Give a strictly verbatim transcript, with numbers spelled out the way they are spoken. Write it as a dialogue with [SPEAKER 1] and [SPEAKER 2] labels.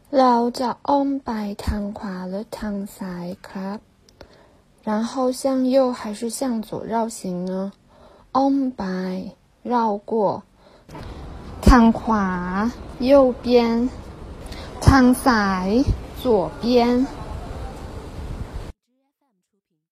[SPEAKER 1] เราจะอ้อมไปทางขวาหรือทางซ้ายครับ然后向右还是向左绕行呢อ้อมไป绕过ทางขวา右边ทางซ้าย左边